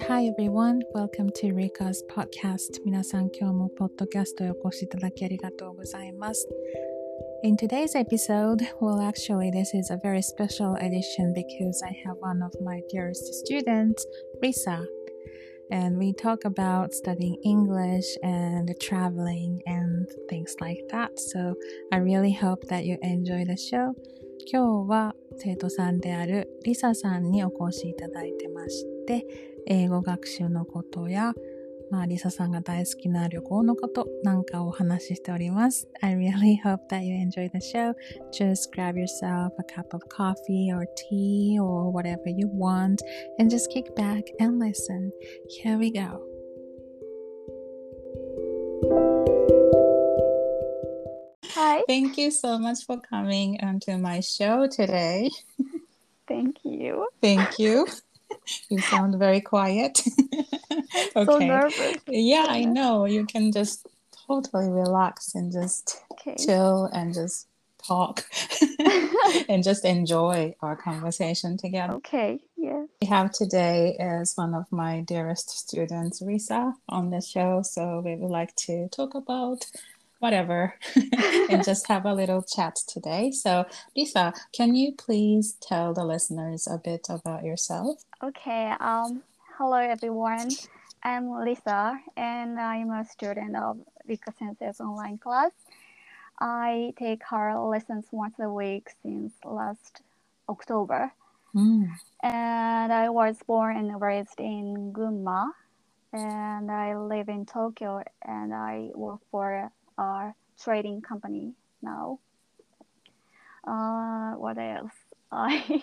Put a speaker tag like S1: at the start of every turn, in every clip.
S1: Hi everyone, welcome to Rika's podcast. 皆さん今日もポッドキャストへお越しいただきありがとうございます。In today's episode, well actually this is a very special edition because I have one of my dearest students, Risa, and we talk about studying English and traveling and things like that. So I really hope that you enjoy the show. 今日は生徒さんであるリサさんにお越しいただいてまして、英語学習のことや、リサさんが大好きな旅行のことなんかをお話ししております。I really hope that you enjoy the show. Just grab yourself a cup of coffee or tea or whatever you want and just kick back and listen. Here we go.
S2: Hi.
S1: Thank you so much for coming onto my show today.
S2: Thank you.
S1: Thank you. You sound very quiet.
S2: I'm so nervous.
S1: Yeah, I know. You can just totally relax and just chill and just talk and just enjoy our conversation together.
S2: Okay, yeah.
S1: We have today is one of my dearest students, Risa, on the show. So we would like to talk about whatever and just have a little chat today. So Lisa, can you please tell the listeners a bit about yourself?
S2: Okay, hello everyone. I'm Lisa and I'm a student of Rika Sensei's online class. I take her lessons once a week since last October. And I was born and raised in Gunma. And I live in Tokyo and I work for a trading company now. What else? I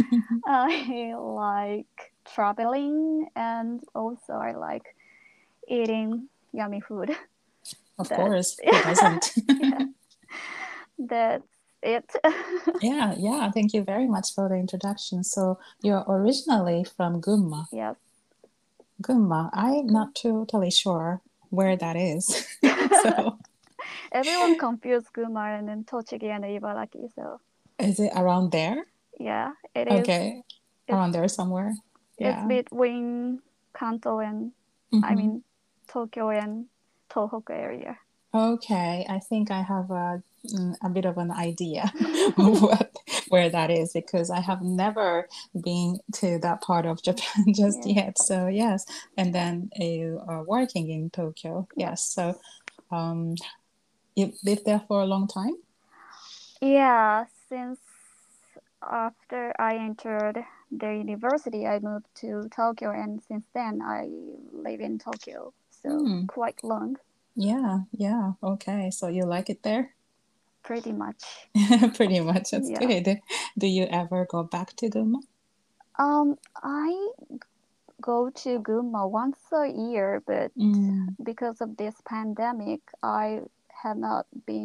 S2: like traveling and also I like eating yummy food.
S1: Of course, who doesn't?
S2: Yeah, that's it.
S1: Yeah. Thank you very much for the introduction. So you're originally from Gunma.
S2: Yes.
S1: Gunma. I'm not totally sure where that is. So
S2: everyone confused Gunma and then Tochigi and Ibaraki. So
S1: is it around there?
S2: Yeah, it is.
S1: Okay, around there somewhere.
S2: It's between Kanto and Tokyo and Tohoku area.
S1: Okay, I think I have a bit of an idea where that is because I have never been to that part of Japan just yet. So yes, and then you are working in Tokyo. Yes, so you lived there for a long time?
S2: Yeah, since after I entered the university, I moved to Tokyo, and since then I live in Tokyo. So quite long.
S1: Yeah. Okay, so you like it there?
S2: Pretty much.
S1: Pretty much. That's good. Do you ever go back to Gunma?
S2: I go to Gunma once a year, but because of this pandemic, I have not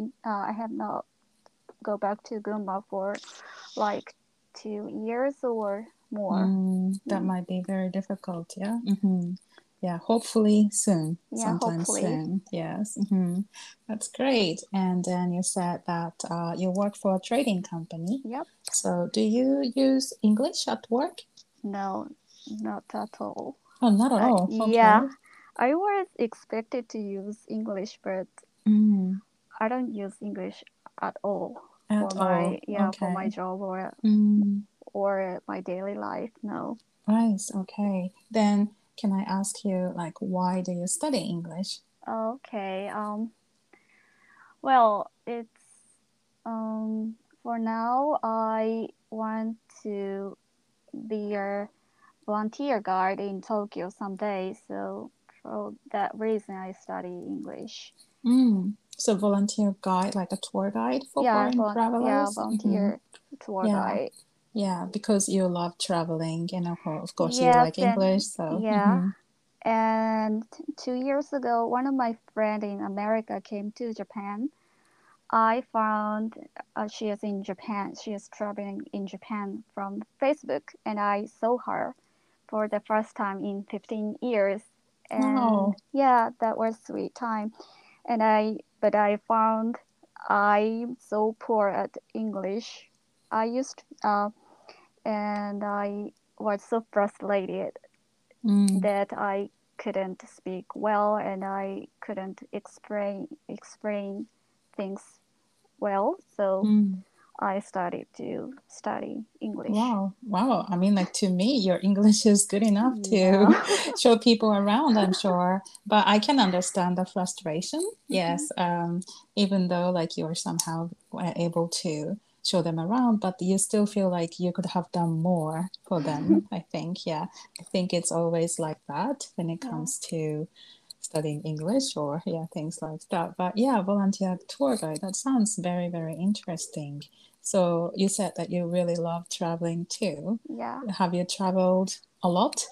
S2: go back to Gunma for like 2 years or more.
S1: That might be very difficult. Yeah. Yeah, hopefully soon. Sometime soon. Yes. That's great. And then you said that you work for a trading company.
S2: Yep.
S1: So do you use English at work?
S2: No, not at all.
S1: Oh, not at all. Okay.
S2: Yeah, I was expected to use English, but I don't use English at all for my job or my daily life. No.
S1: Right. Okay. Then can I ask you, like, why do you study English?
S2: Okay. Well, it's for now I want to be a volunteer guide in Tokyo someday. So for that reason, I study English.
S1: So volunteer guide, like a tour guide for foreign travelers?
S2: Yeah, volunteer tour guide.
S1: Yeah, because you love traveling and of course you like English. So
S2: And 2 years ago, one of my friends in America came to Japan. I found she is in Japan. She is traveling in Japan from Facebook, and I saw her for the first time in 15 years. And that was a sweet time. But I found I'm so poor at English. And I was so frustrated that I couldn't speak well and I couldn't explain things well. So I started to study English.
S1: Wow. I mean, like to me, your English is good enough to
S2: Yeah.
S1: show people around, I'm sure. But I can understand the frustration. Yes. Even though like you're somehow able to show them around, but you still feel like you could have done more for them, I think. Yeah. I think it's always like that when it
S2: Yeah.
S1: comes to studying English or things like that. But yeah, volunteer tour guide, that sounds very, very interesting. So you said that you really love traveling too.
S2: Yeah.
S1: Have you traveled a lot?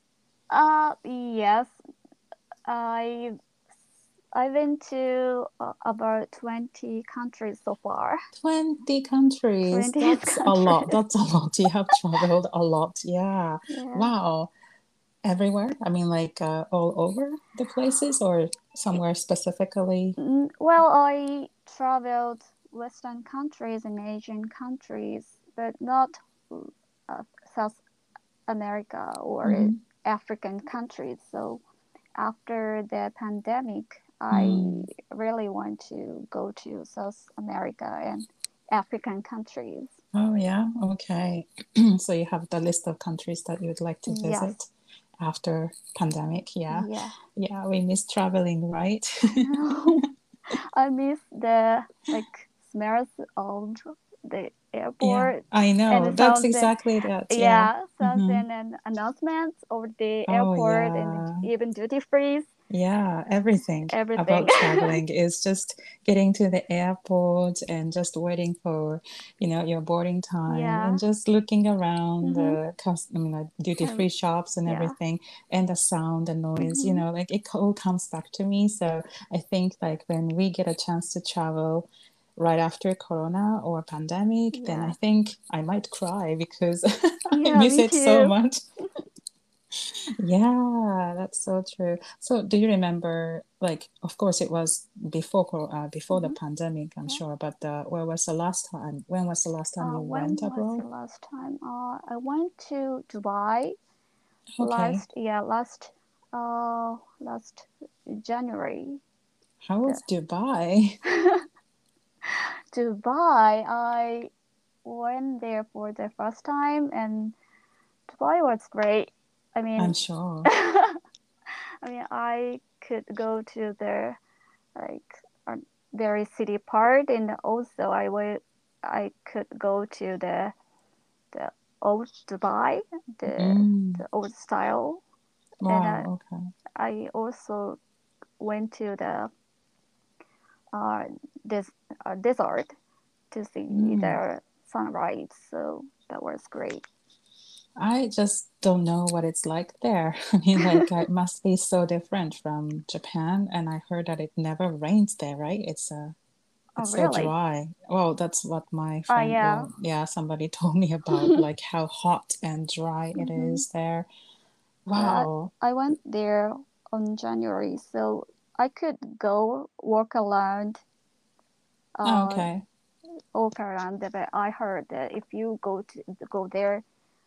S2: Yes. I I've been to about 20 countries so far.
S1: 20 countries.
S2: 20
S1: That's a lot.
S2: countries.
S1: That's a lot. You have traveled a lot. Yeah.
S2: Yeah.
S1: Wow. Everywhere? I mean, like all over the places or somewhere specifically?
S2: Well, I traveled Western countries and Asian countries, but not South America or African countries. So after the pandemic, I really want to go to South America and African countries.
S1: Oh, yeah. Okay. So you have the list of countries that you would like to
S2: Yes.
S1: visit after pandemic. Yeah.
S2: Yeah.
S1: Yeah, we miss traveling, right?
S2: I miss the smells of the
S1: Yeah,
S2: airport
S1: I know.
S2: and
S1: That's
S2: sounds
S1: exactly that. Yeah.
S2: sounds and announcements of the
S1: Oh,
S2: airport and
S1: yeah.
S2: even duty free,
S1: Yeah, everything
S2: everything.
S1: about traveling is just getting to the airport and just waiting for, your boarding time
S2: Yeah.
S1: and just looking around
S2: Mm-hmm.
S1: the duty-free shops and
S2: Yeah.
S1: everything and the sound, the noise, like it all comes back to me. So I think like when we get a chance to travel right after Corona or pandemic, then I
S2: Yeah.
S1: think I might cry because I
S2: Yeah,
S1: miss
S2: me
S1: it so
S2: too.
S1: much. Yeah, that's so true. So, do you remember, like, of course, it was before the pandemic, I'm
S2: Yeah.
S1: sure, but where was the last time? When was the last time you
S2: When
S1: went
S2: was
S1: abroad?
S2: the last time? I went to Dubai
S1: Okay.
S2: last January.
S1: How was Dubai?
S2: Dubai, I went there for the first time, and Dubai was great. I
S1: I'm
S2: mean,
S1: sure.
S2: I could go to the very city part, and also I could go to the old Dubai, the old style, and
S1: Wow, okay.
S2: I also went to the this desert to see the sunrise. So that was great.
S1: I just don't know what it's like there. I mean, like, it must be so different from Japan, and I heard that it never rains there, right?
S2: Oh,
S1: It's so
S2: really?
S1: dry. Well, that's what my friend,
S2: Yeah.
S1: well, yeah, somebody told me about, like how hot and dry it
S2: Mm-hmm.
S1: is there.
S2: Yeah,
S1: Wow.
S2: I went there on January, so I could go
S1: Oh,
S2: uh,
S1: okay.
S2: walk around. But I heard that if you go there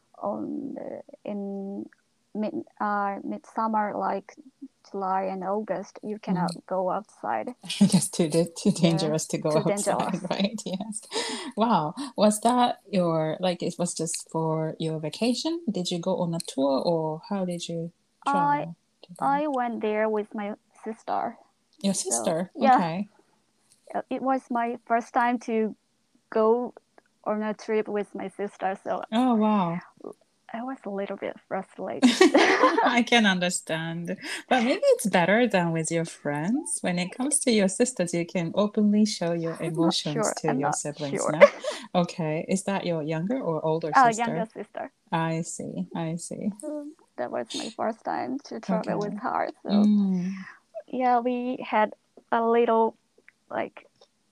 S2: in midsummer, like July and August, you cannot go outside.
S1: Just too
S2: Yeah,
S1: dangerous to go
S2: too
S1: outside,
S2: dangerous.
S1: right? Yes. Wow. Was that like it was just for your vacation? Did you go on a tour or how did you
S2: I
S1: travel to there?
S2: I went there with my sister.
S1: Your
S2: So
S1: sister?
S2: yeah,
S1: Okay.
S2: it was my first time to go on a trip with my sister. So
S1: Oh, wow.
S2: I was a little bit frustrated.
S1: I can understand. But maybe it's better than with your friends. When it comes to your sisters, you can openly show your
S2: I'm not
S1: emotions
S2: sure.
S1: to
S2: I'm
S1: your
S2: not
S1: siblings,
S2: sure.
S1: no? Okay. Is that your younger or older
S2: Younger
S1: sister?
S2: sister.
S1: I see. I see.
S2: That was my first time to travel with
S1: Okay.
S2: her. So
S1: Mm.
S2: yeah, we had a little like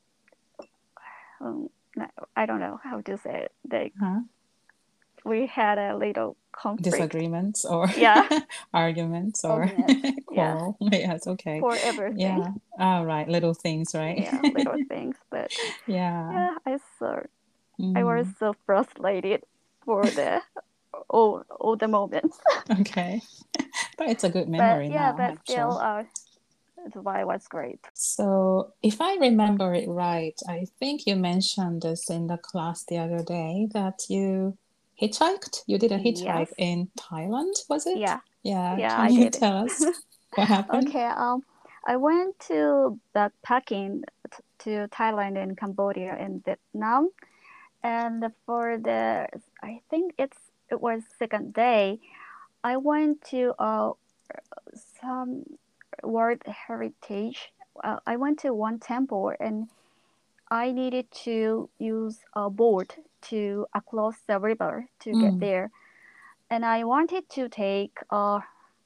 S2: um, I don't know how to say it.
S1: Huh?
S2: We had a little conflict.
S1: Disagreements or
S2: Yeah,
S1: arguments or
S2: arguments. Yeah,
S1: quarrel. Yes, okay.
S2: for everything.
S1: Yeah. All right. Little things, right?
S2: Yeah, little things. But
S1: Yeah.
S2: yeah, I was
S1: Mm.
S2: so frustrated for the all the moments.
S1: Okay. But it's a good
S2: But
S1: memory
S2: yeah,
S1: now,
S2: but
S1: I'm
S2: still,
S1: sure.
S2: Dubai was great.
S1: So, if I remember it right, I think you mentioned this in the class the other day that you hitchhiked. You did a
S2: Yes.
S1: hitchhike in Thailand, was it?
S2: Yeah.
S1: Yeah.
S2: Yeah,
S1: Can
S2: I
S1: you
S2: did.
S1: tell us what happened?
S2: Okay. I went to backpacking to Thailand and Cambodia and Vietnam, and for I think it was second day. I went to some World Heritage. I went to one temple and I needed to use a boat to across the river to get
S1: Mm,
S2: there. And I wanted to take a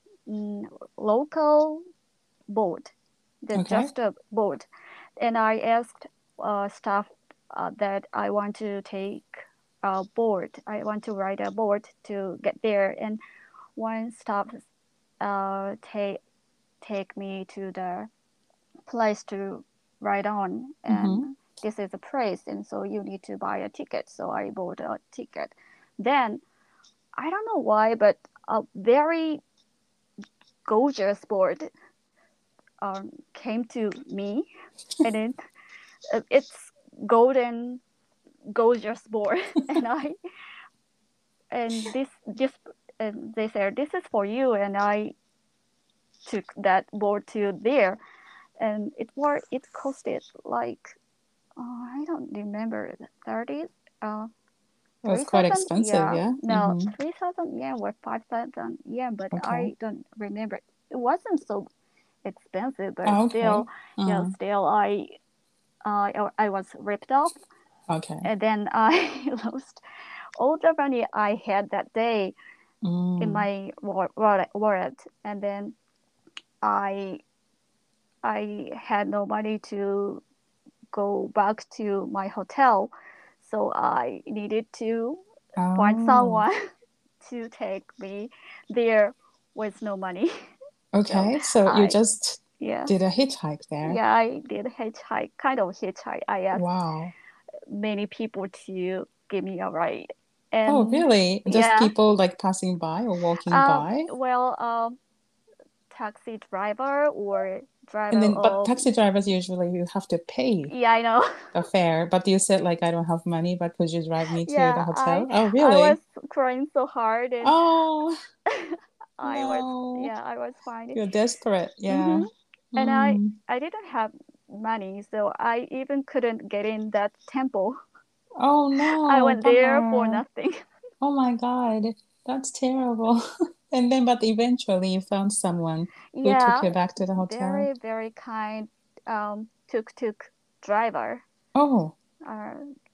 S2: local boat,
S1: okay.
S2: just a boat. And I asked staff that I want to take a boat. I want to ride a boat to get there. And one staff take me to the place to ride on,
S1: Mm-hmm.
S2: and this is a place, and so you need to buy a ticket. So I bought a ticket. Then I don't know why, but a very gorgeous board came to me, and then it's golden gorgeous board, and I and this and they said this is for you, and I took that board to there, and it costed like I don't remember 30 uh
S1: It was quite
S2: 3,000,
S1: expensive,
S2: yeah,
S1: yeah?
S2: no,
S1: Mm-hmm.
S2: 3,000 yen or 5,000 yen, but
S1: Okay.
S2: I don't remember. It wasn't so expensive, but
S1: Oh,
S2: still,
S1: okay.
S2: yeah,
S1: Mm,
S2: still I was ripped off,
S1: okay.
S2: and then I lost all the money I had that day in
S1: Mm.
S2: my wallet, and then I I had no money to go back to my hotel, so I needed to find
S1: Oh,
S2: someone to take me there with no money. So
S1: okay. So you
S2: I,
S1: just
S2: yeah,
S1: did a hitchhike there.
S2: yeah, I did hitchhike, kind of hitchhike. I asked
S1: Wow.
S2: many people to give me a ride,
S1: Oh,
S2: and
S1: really? Just
S2: yeah,
S1: people like passing by or walking by?
S2: well, taxi driver or
S1: And
S2: driver
S1: then, but
S2: of,
S1: taxi drivers usually you have to pay
S2: yeah, I know.
S1: the fare. But you said like I don't have money, but could you drive me to the
S2: Yeah,
S1: hotel? Oh,
S2: I was
S1: really?
S2: crying so hard, and
S1: Oh,
S2: I was,
S1: no.
S2: yeah, I was fine.
S1: You're desperate.
S2: Mm-hmm.
S1: Yeah.
S2: And
S1: Mm.
S2: I didn't have money, so I even couldn't get in that temple.
S1: Oh,
S2: I
S1: no.
S2: went there for
S1: Bummer.
S2: nothing.
S1: Oh my God. That's terrible. And then, but eventually you found someone who took
S2: Yeah,
S1: you back to the hotel.
S2: very, very kind tuk-tuk driver,
S1: Oh,
S2: uh,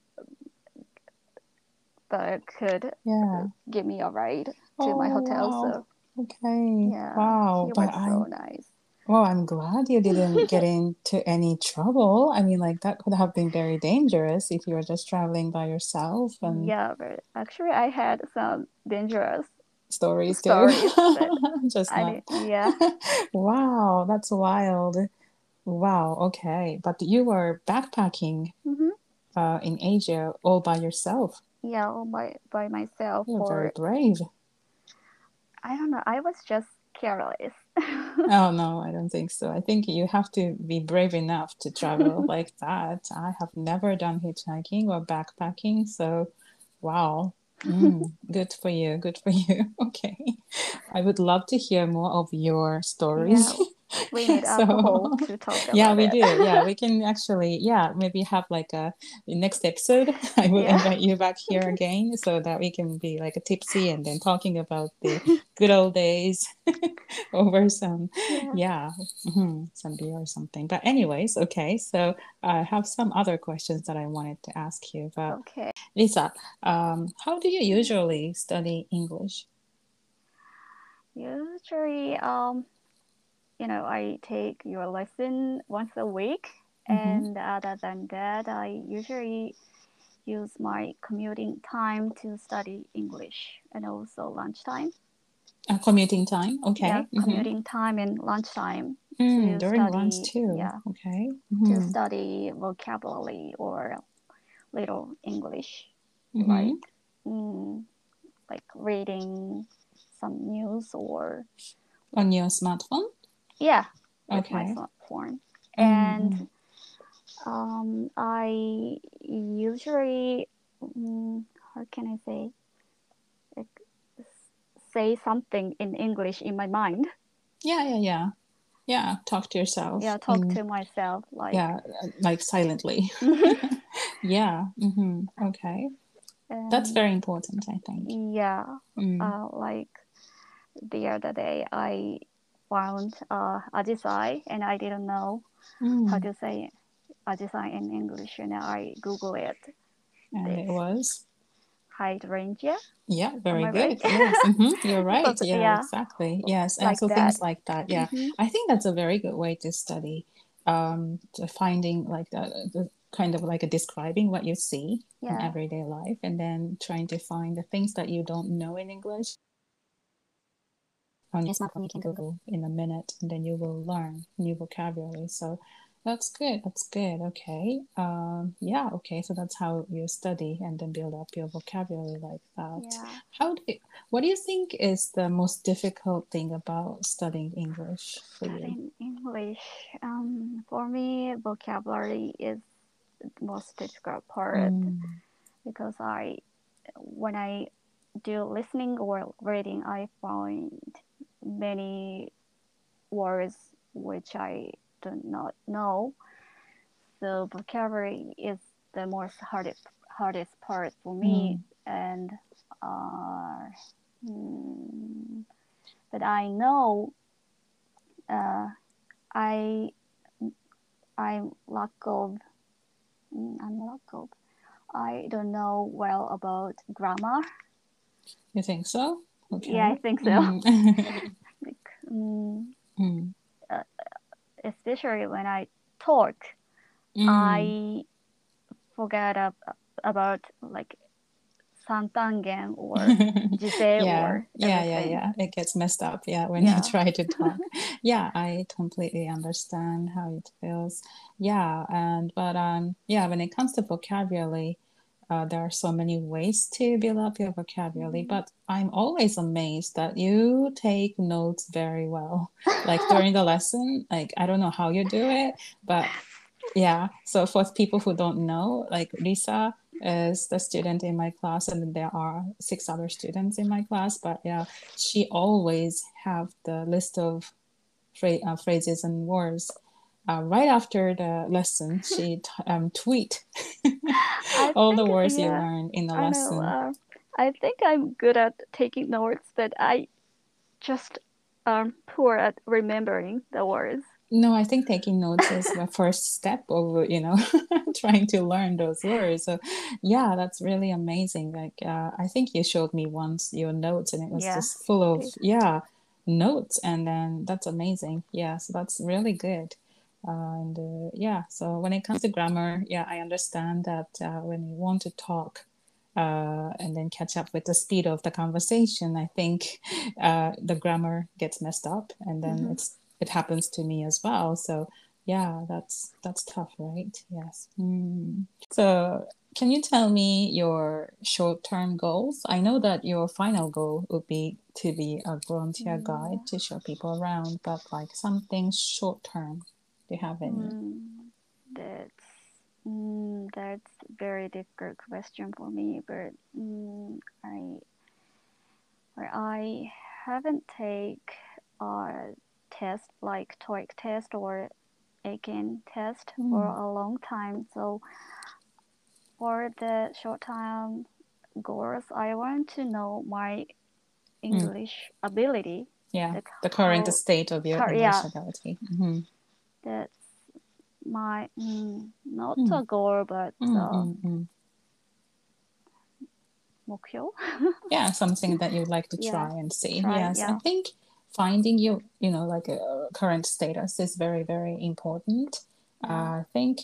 S2: but could
S1: yeah.
S2: give me a ride to my
S1: Oh,
S2: hotel.
S1: wow.
S2: So
S1: Okay.
S2: yeah,
S1: Wow.
S2: he was
S1: But
S2: so
S1: I'm,
S2: nice.
S1: well, I'm glad you didn't get into any trouble. I mean, like that could have been very dangerous if you were just traveling by yourself and
S2: Yeah, but actually I had some dangerous
S1: stories too.
S2: stories, but
S1: Just
S2: I
S1: not.
S2: didn't. Yeah.
S1: Wow, that's wild. Wow, okay. But you were backpacking
S2: Hmm.
S1: in Asia all by yourself.
S2: Yeah, all by myself
S1: You're very
S2: for
S1: brave.
S2: I don't know. I was just careless.
S1: Oh no, I don't think so. I think you have to be brave enough to travel like that. I have never done hitchhiking or backpacking, so wow. Good for you. Good for you. Okay. I would love to hear more of your stories.
S2: Yeah, we need
S1: So,
S2: alcohol to talk
S1: yeah,
S2: about
S1: we
S2: it.
S1: do. Yeah, we can actually, yeah, maybe have like a next episode. I will
S2: Yeah.
S1: invite you back here again so that we can be like a tipsy and then talking about the good old days over some,
S2: Yeah.
S1: yeah, some beer or something. But anyways, okay. So I have some other questions that I wanted to ask you. But
S2: Okay.
S1: Lisa, how do you usually study English?
S2: Usually, I take your lesson once a week,
S1: Mm-hmm.
S2: and other than that, I usually use my commuting time to study English, and also lunchtime.
S1: Commuting time.
S2: Yeah,
S1: Okay. Mm-hmm.
S2: commuting time and lunchtime
S1: Mm,
S2: to
S1: during lunch
S2: study.
S1: too.
S2: Yeah,
S1: Okay.
S2: to
S1: Mm-hmm.
S2: study vocabulary or little English,
S1: Mm-hmm.
S2: like mm, like reading some news or
S1: On your smartphone?
S2: Yeah, with my
S1: Okay.
S2: smartphone.
S1: Mm-hmm.
S2: And I usually, how can I say, like, say something in English in my mind.
S1: Yeah, talk to yourself
S2: Yeah, talk
S1: in,
S2: to myself
S1: yeah, like silently. Yeah. Okay. That's
S2: and
S1: very important, I think.
S2: yeah,
S1: Mm.
S2: like the other day I found ajisai and I didn't know how
S1: Mm.
S2: to say ajisai in English, and I Google it.
S1: And it
S2: This
S1: was,
S2: hydrangea.
S1: yeah,
S2: Am
S1: very
S2: I right?
S1: good. Yes. You're right.
S2: So
S1: Yeah,
S2: yeah,
S1: exactly. Yes. And
S2: like
S1: so
S2: that.
S1: things like that. Yeah.
S2: Hmm.
S1: I think that's a very good way to study, to finding like the kind of like a describing what you see in
S2: Yeah,
S1: everyday life and then trying to find the things that you don't know in English. On your smartphone, you can Google in a minute and then you will learn new vocabulary. So that's good. That's good. Okay. Yeah. Okay. So that's how you study and then build up your vocabulary like that.
S2: yeah.
S1: What do you think is the most difficult thing about studying English for you?
S2: Studying English. For me, vocabulary is the most difficult part
S1: Mm,
S2: because when I do listening or reading, I find many words which I do not know. So vocabulary is the most hardest part for me,
S1: mm,
S2: and uh, mm, but I know uh, I I'm lack of I'm lack of I don't know well about grammar.
S1: you think so?
S2: Yeah, I
S1: Okay.
S2: think so.
S1: Mm.
S2: Like, mm,
S1: Mm.
S2: uh, especially when I talk,
S1: Mm.
S2: I forget about like santangen or jise
S1: Yeah,
S2: or
S1: yeah, yeah,
S2: everything.
S1: yeah. It gets messed up, yeah, when you
S2: Yeah.
S1: try to talk. Yeah, I completely understand how it feels. Yeah, and but yeah, when it comes to vocabulary, there are so many ways to build up your vocabulary,
S2: Mhm.
S1: but I'm always amazed that you take notes very well. Like during the lesson, like I don't know how you do it, but yeah, so for people who don't know, like Lisa is the student in my class, and there are 6 other students in my class. But yeah, she always have the list of phrases and words. Right after the lesson, she tweet
S2: I
S1: all the
S2: think,
S1: words you
S2: yeah,
S1: learned in the
S2: I know.
S1: lesson.
S2: I think I'm good at taking notes, but I just poor at remembering the words.
S1: No, I think taking notes is the first step of, trying to learn those words. So, yeah, that's really amazing. Like, I think you showed me once your notes, and it was
S2: Yeah,
S1: just full of,
S2: did.
S1: yeah, notes. And then that's amazing. Yeah, so that's really good. And yeah, so when it comes to grammar, yeah, I understand that when you want to talk, and then catch up with the speed of the conversation, I think the grammar gets messed up, and then
S2: Hmm.
S1: it happens to me as well. So yeah, that's tough, right? Yes. So can you tell me your short-term goals? I know that your final goal would be to be a volunteer
S2: Yeah.
S1: guide to show people around, but like something short-term, do you have any?
S2: Mm, that's that's very difficult question for me, but I haven't take a test like TOEIC test or Aiken test for
S1: Mm,
S2: a long time. So for the short term goals, I want to know my
S1: mm,
S2: English ability,
S1: yeah,
S2: like
S1: the current
S2: how,
S1: state of your English
S2: yeah,
S1: ability.
S2: that's my not
S1: Mm,
S2: a goal, but
S1: mm.
S2: 目標.
S1: Yeah, something that you'd like to
S2: Yeah,
S1: try and see.
S2: try,
S1: Yes, I
S2: yeah.
S1: think finding like a current status is very, very important.
S2: Yeah.
S1: I think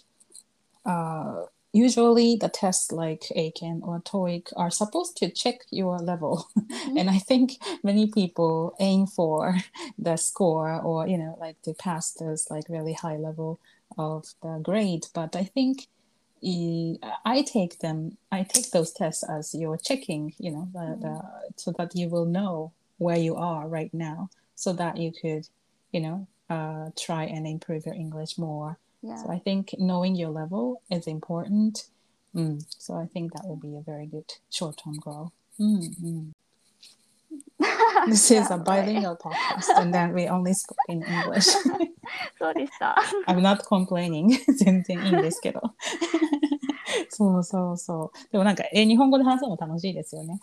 S1: usually the tests like ACAN or TOEIC are supposed to check your level.
S2: Mm-hmm.
S1: And I think many people aim for the score or, like to pass this like really high level of the grade. But I think I take those tests as you're checking, so that you will know where you are right now. so that you could, try and improve your English more.
S2: Yeah.
S1: So I think knowing your level is important. So I think that will be a very good short-term goal. This is a bilingual podcast, and then we only spoke in English.
S2: そうでした。
S1: I'm not complaining. 全然いいんですけど。そうそうそう。でもなんか、日本語で話すのも楽しいですよね。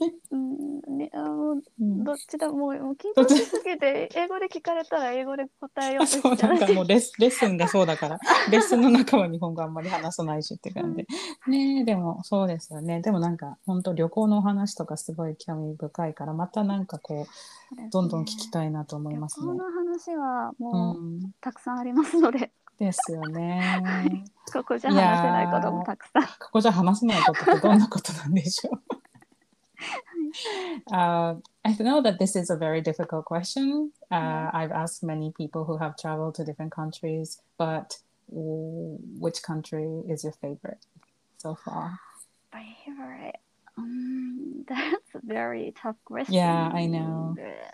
S2: どっちだもう緊張しすぎて英語で聞かれたら英語で答えようとしちゃう。
S1: そうなんかもうレッスンがそうだからレッスンの中は日本語あんまり話さないしって感じね。でもそうですよね。でもなんか本当旅行のお話とかすごい興味深いからまたなんかこうどんどん聞きたいなと思いますね。
S2: 旅行の話はもう、たくさんありますので。
S1: ですよね。
S2: ここじゃ話せないこともたくさん。
S1: ここじゃ話せないことってどんなことなんでしょう。I know that this is a very difficult question. I've asked many people who have traveled to different countries, but which country is your favorite so far?
S2: Favorite? That's a very tough question.
S1: Yeah, I know.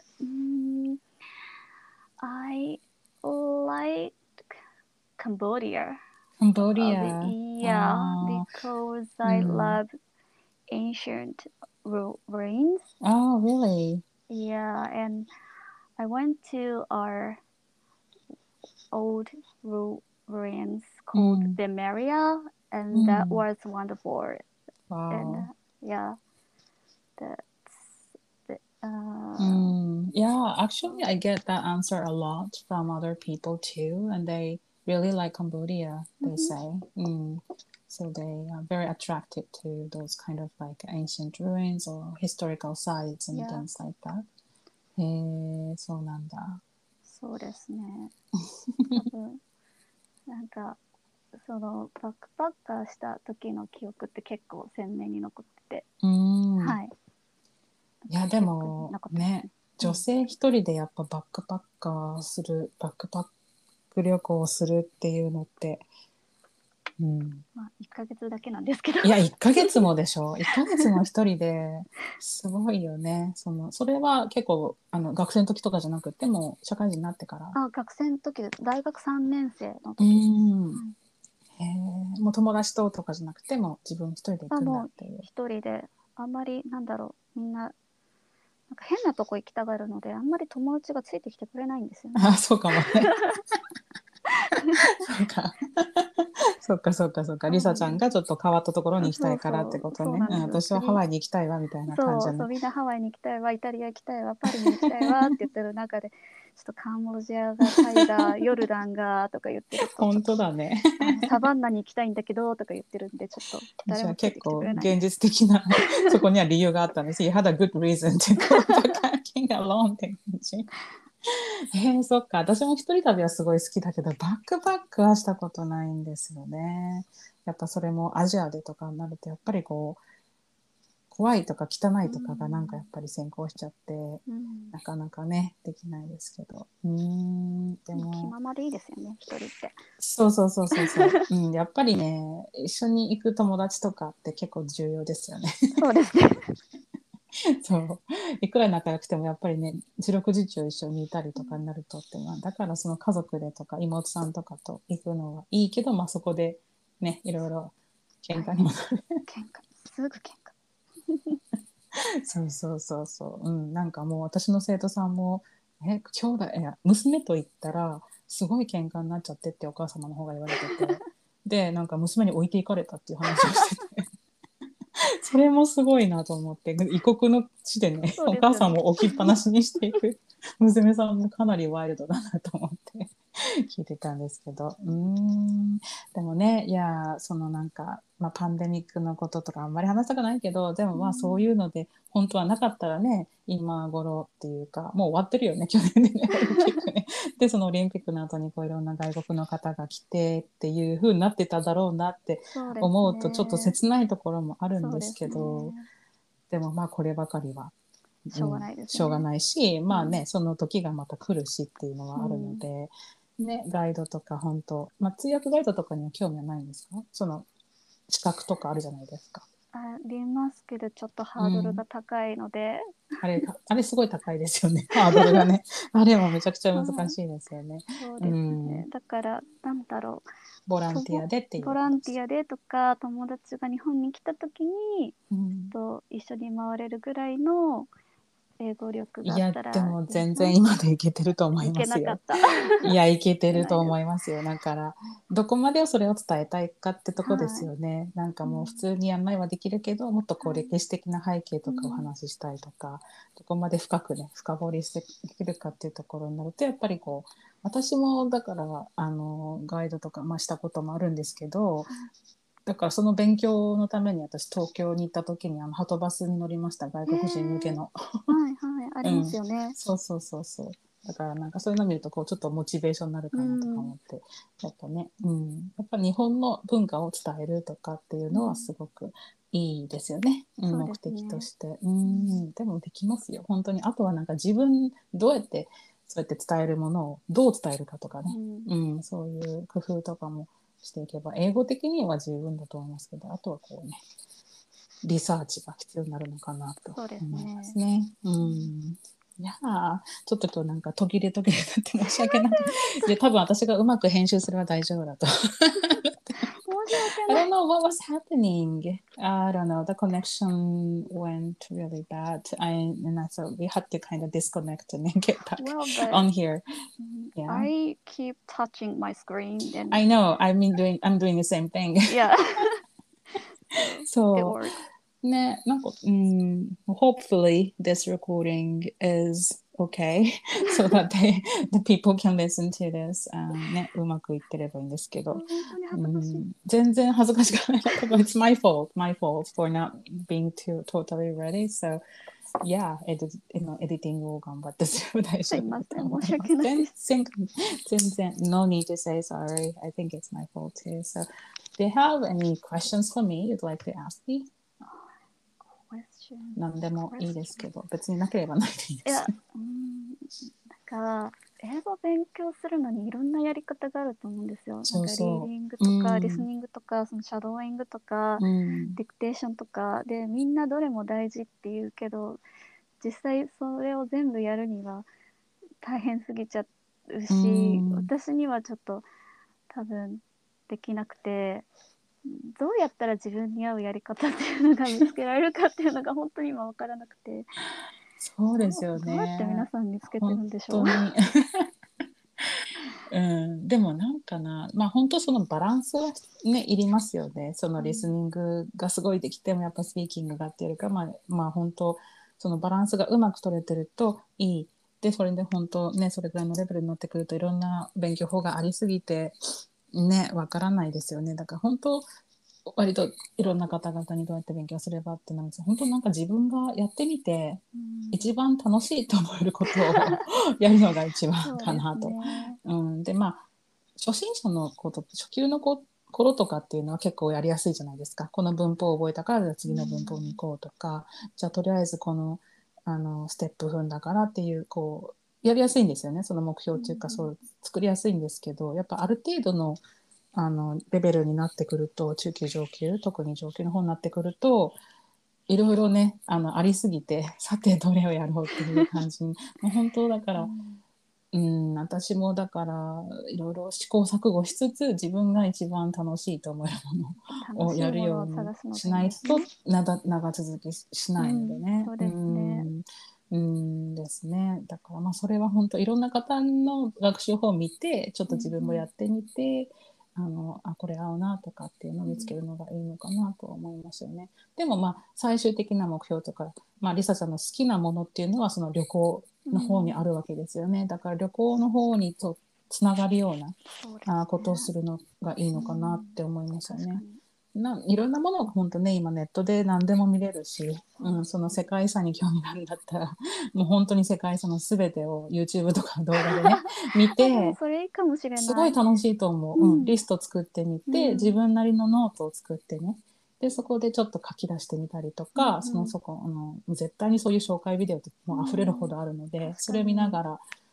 S2: I like Cambodia.
S1: Cambodia.
S2: Because I love ancient ruins.
S1: Oh, really?
S2: Yeah, and I went to our old ruins called the Maria, and that was wonderful.
S1: Wow.
S2: And that's
S1: yeah, actually I get that answer a lot from other people too, and they really like Cambodia, they say. So they are very attracted to those kind of like ancient ruins or historical sites and things like that. そうなんだ。
S2: そうですね。多分なんかそのバックパッカーした時の記憶って結構鮮明に残ってて、はい。
S1: いやでもね、女性一人でやっぱバックパック旅行をするっていうのって、
S2: まあ1ヶ月だけなんですけど。
S1: いや1ヶ月もでしょ。1ヶ月も一人ですごいよね。それは結構学生の時とかじゃなくても社会人になってから。
S2: 学生の時で大学3年生の時です。
S1: もう友達とかじゃなくても自分一人で行くんだっていう。
S2: 一人であんまりみんななんか変なとこ行きたがるのであんまり友達がついてきてくれないんですよね。
S1: そうかもね。そうか。リサちゃんがちょっと変わったところに行きたいからってことね。私はハワイに行きたいわみたいな感じ
S2: そうみんなハワイに行きたいわ、イタリア行きたいわ、パリに行きたいわって言ってる中でちょっとカンボジアがタイがヨルダンがとか言ってると
S1: 本当だね。
S2: サバンナに行きたいんだけどとか言ってるんでちょっと誰もついてきてくれない。
S1: 結構現実的なそこには理由があったんです。You had a good reason to go backpacking alone って感じ。そっか。私も一人旅はすごい好きだけどバックパックはしたことないんですよね。やっぱそれもアジアでとかになるとやっぱりこう怖いとか汚いとかがなんかやっぱり先行しちゃって、なかなかねできないですけど。でも
S2: 気ままでいいですよね、一人って。
S1: そう、やっぱりね一緒に行く友達とかって結構重要ですよね。
S2: そうですね。
S1: そういくら仲良くてもやっぱりね四六時中一緒にいたりとかになるとってだからその家族でとか妹さんとかと行くのはいいけど、そこでねいろいろ喧嘩にもなる。
S2: すぐ喧
S1: 嘩そう、なんかもう私の生徒さんも兄弟娘と言ったらすごい喧嘩になっちゃってってお母様の方が言われててでなんか娘に置いていかれたっていう話をしててそれもすごいなと思って異国の地でねお母さんも置きっぱなしにしていく娘さんもかなりワイルドだなと思って聞いてたんですけどでもねいやそのなんか、パンデミックのこととかあんまり話したくないけどでもそういうので本当はなかったらね今頃っていうかもう終わってるよね去年でねオリンピックねでそのオリンピックの後にこういろんな外国の方が来てっていう風になってただろうなって思うとちょっと切ないところもあるんですけどでもこればかりは
S2: しょうがないですね。
S1: しょうがないしその時がまた来るしっていうのはあるので、ガイドとか本当、通訳ガイドとかには興味はないんですか？その資格とかあるじゃないですか。
S2: りますけどちょっとハードルが高いので、
S1: あれすごい高いですよね。ハードルがね。あれはめちゃくちゃ難しいですよね。
S2: そうですね。
S1: うん。
S2: だからなんだろう。
S1: ボランティアでっていう
S2: ボランティアでとか友達が日本に来た時に、一緒に回れるぐらいの英語力があったら
S1: でも全然今でいけてると思い
S2: い
S1: ますよ。
S2: けなかった。
S1: いけてると思いますよ。だからどこまでそれを伝えたいかってとこですよね。なんかもう普通に案内はできるけど、もっとこう歴史的な背景とかお話ししたいとか、どこまで深くね深掘りしてできるかっていうところになると、やっぱりこう私もだからガイドとか、したこともあるんですけど、だからその勉強のために私東京に行った時にはとバスに乗りました。外国人向けの。
S2: ありますよね。
S1: そうそうそうそう。だからなんかそういうのを見るとこうちょっとモチベーションになるかなとか思って、やっぱね、やっぱ日本の文化を伝えるとかっていうのはすごくいいですよね。目的として。でもできますよ。本当に。あとはなんか自分どうやってそうやって伝えるものをどう伝えるかとかね。そういう工夫とかもしていけば、英語的には十分だと思いますけど、あとはこうね、リサーチが必要になるのかなと思いますね。いやちょっと今日なんか途切れ途切れになって申し訳ない。で、多分私がうまく編集すれば大丈夫だと。I don't know what was happening. I don't know. The connection went really bad. And I thought we had to kind of disconnect and then get back on here.
S2: Yeah. I keep touching my screen. And
S1: I know. I'm doing the same thing.
S2: Yeah.
S1: So
S2: it works.
S1: ね、なんか、hopefully this recording is okay so that the people can listen to this. ね、うまくいってればいいんですけど。
S2: 本当に恥ずかしい。
S1: 全然恥ずかしくない。It's my fault for not being totally ready. So, yeah, エディティングを頑張ってすれば大丈夫だと思います。
S2: すいません、申し訳ないです。
S1: 全然、no need to say sorry. I think it's my fault too. So, do you have any questions for me you'd like to ask me? 何でもいいですけど、別になければないでいいです。
S2: なんか英語勉強するのにいろんなやり方があると思うんですよ。なんかリーディングとか、リスニングとか、そのシャドーイングとか、ディクテーションとかで、みんなどれも大事って言うけど、実際それを全部やるには大変すぎちゃうし、私にはちょっと多分できなくて、どうやったら自分に合うやり方っていうのが見つけられるかっていうのが本当に今分からなくて。
S1: そうですよね。
S2: どうやって皆さん見つけてるんでしょう。
S1: でもなんかな、本当そのバランスはねいりますよね。そのリスニングがすごいできてもやっぱスピーキングがっていうよりか、本当そのバランスがうまく取れてるといい。でそれで本当ねそれぐらいのレベルになってくるといろんな勉強法がありすぎてねわからないですよね。だから本当割といろんな方々にどうやって勉強すればってなるんです。本当なんか自分がやってみて、一番楽しいと思えることをやるのが一番かなと。で初心者のこと初級の頃とかっていうのは結構やりやすいじゃないですか。この文法を覚えたから次の文法に行こうとか、じゃあとりあえずこのステップ踏んだからっていうこうやりやすいんですよね。その目標っていうかそう作りやすいんですけど、やっぱある程度のレベルになってくると中級上級特に上級の方になってくるといろいろねありすぎてさてどれをやろうっていう感じにもう本当だから私もだからいろいろ試行錯誤しつつ自分が一番楽しいと思えるものをやるようにしないと長続きしないのでね。
S2: そうですね。
S1: ですね。だからそれは本当いろんな方の学習法を見てちょっと自分もやってみて、これ合うなとかっていうのを見つけるのがいいのかなと思いますよね。でも最終的な目標とか、リサちゃんの好きなものっていうのはその旅行の方にあるわけですよね。だから旅行の方につながるようなことをするのがいいのかなって思いますよね。いろんなものが本当ね今ネットで何でも見れるし、その世界遺産に興味があるんだったらもう本当に世界遺産の全てを YouTube とか動画でね見て
S2: それいいかもしれない。
S1: すごい楽しいと思う、リスト作ってみて、自分なりのノートを作ってねでそこでちょっと書き出してみたりとか、絶対にそういう紹介ビデオってもう溢れるほどあるので、それを見ながら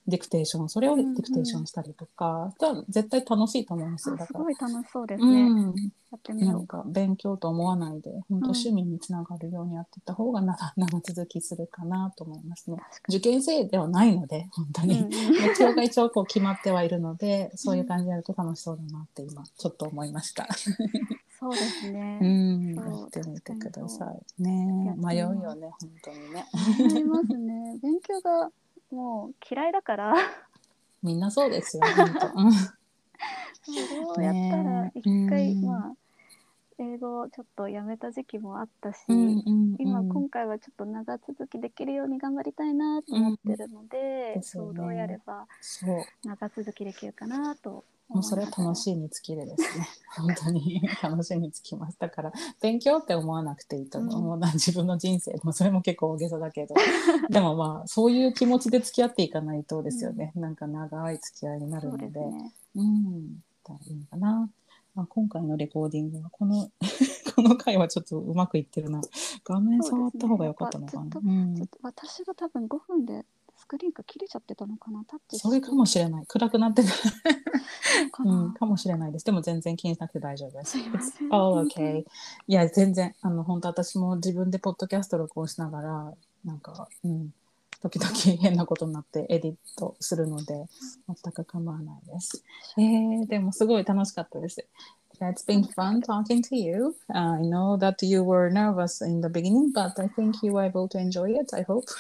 S3: ディクテーション、それをディクテーションしたりとか、絶対楽しいと思うんですよ。だから
S2: すごい楽しそうですね。やってみよう。
S3: なんか勉強と思わないで本当趣味につながるようにやっていった方が長続きするかなと思いますね。受験生ではないので本当に、目標が一応こう決まってはいるので、そういう感じでやると楽しそうだなって今ちょっと思いました
S2: そうですね。
S3: やってみてくださいね。迷うよね本当にね。
S2: 迷いますね。勉強がもう嫌いだから
S3: みんなそうですよ本当
S2: どうやったら一回、英語をちょっとやめた時期もあったし、今回はちょっと長続きできるように頑張りたいなと思ってるので、どうやれば長続きできるかなと
S3: もうそれは楽しいに尽きるですね本当に楽しいに尽きます。だから勉強って思わなくていいと思う、自分の人生もそれも結構大げさだけどでもそういう気持ちで付き合っていかないとですよね、なんか長い付き合いになるので、いいのかな。今回のレコーディングはこの回はちょっとうまくいってるな。画面触った方が良かったのかな。
S2: 私が多分5分でスクリーンが切れちゃってたのかな。タッチ
S3: それかもしれない。暗くなってたかもしれないです。でも全然気にしなくて大丈夫です。It's all okay。いや全然本当私も自分でポッドキャスト録音しながらなんか時々変なことになってエディットするので全く構わないです。でもすごい楽しかったです。It's been fun talking to you. I know that you were nervous in the beginning, but I think you were able to enjoy it. I hope.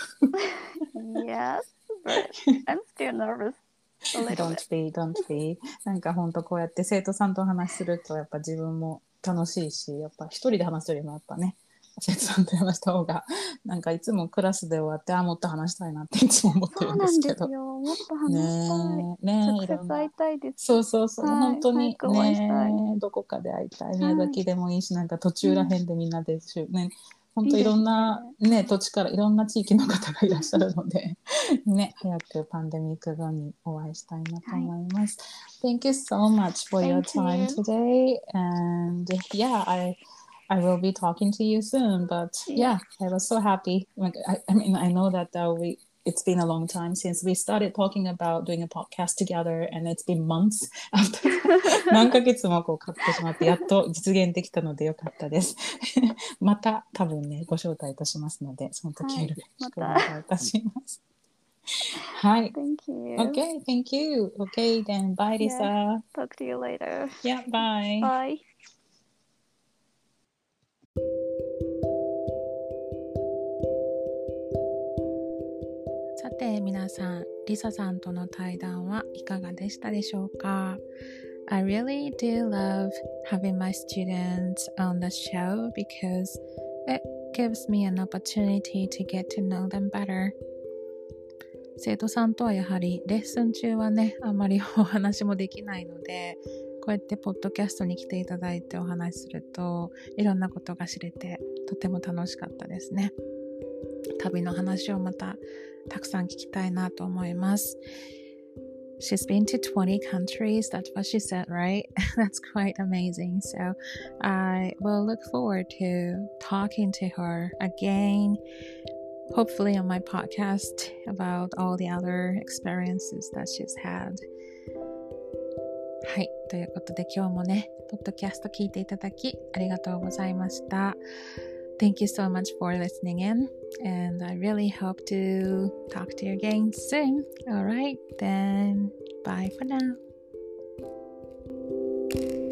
S2: Yes, but I'm still nervous.
S3: Don't be. なんか本当こうやって生徒さんとお話しするとやっぱ自分も楽しいし、やっぱ一人で話すよりもやっぱね。生徒さんと話した方がなんかいつもクラスで終わってもっと話したいなっていつも思ってるんですけど。
S2: もっと話したい。直接会いたいです。
S3: そう、本当にね、どこかで会いたい。宮崎でもいいし、なんか途中らへんでみんなでね、本当いろんなね土地からいろんな地域の方がいらっしゃるのでね、早くパンデミック後にお会いしたいなと思います。Thank you so much for your time today, and yeah, I will be talking to you soon. But yeah, I was so happy. Like I mean, I know that it's been a long time since we started talking about doing a podcast together, and it's been months after 何ヶ月もこうかかってしまってやっと実現できたのでよかったですまた多分ねご招待いたしますのでその時よろしくお願いいたしますはい。
S2: Thank you.
S3: Okay, thank you. Okay, then bye, Lisa.
S2: Talk to you later.
S3: Yeah, bye.
S2: Bye.
S1: さて皆さん、リサさんとの対談はいかがでしたでしょうか？ I really do love having my students on the show because it gives me an opportunity to get to know them better. 生徒さんとはやはりレッスン中はね、あまりお話もできないので、こうやってポッドキャストに来ていただいてお話しするといろんなことが知れてとても楽しかったですね。旅の話をまたたくさん聞きたいなと思います。She's been to 20 countries. That's what she said, right? That's quite amazing. So I will look forward to talking to her again, hopefully on my podcast about all the other experiences that she's had. はい、ということで今日もね、ポッドキャスト聞いていただきありがとうございました。Thank you so much for listening in, and I really hope to talk to you again soon. Alright, then bye for now.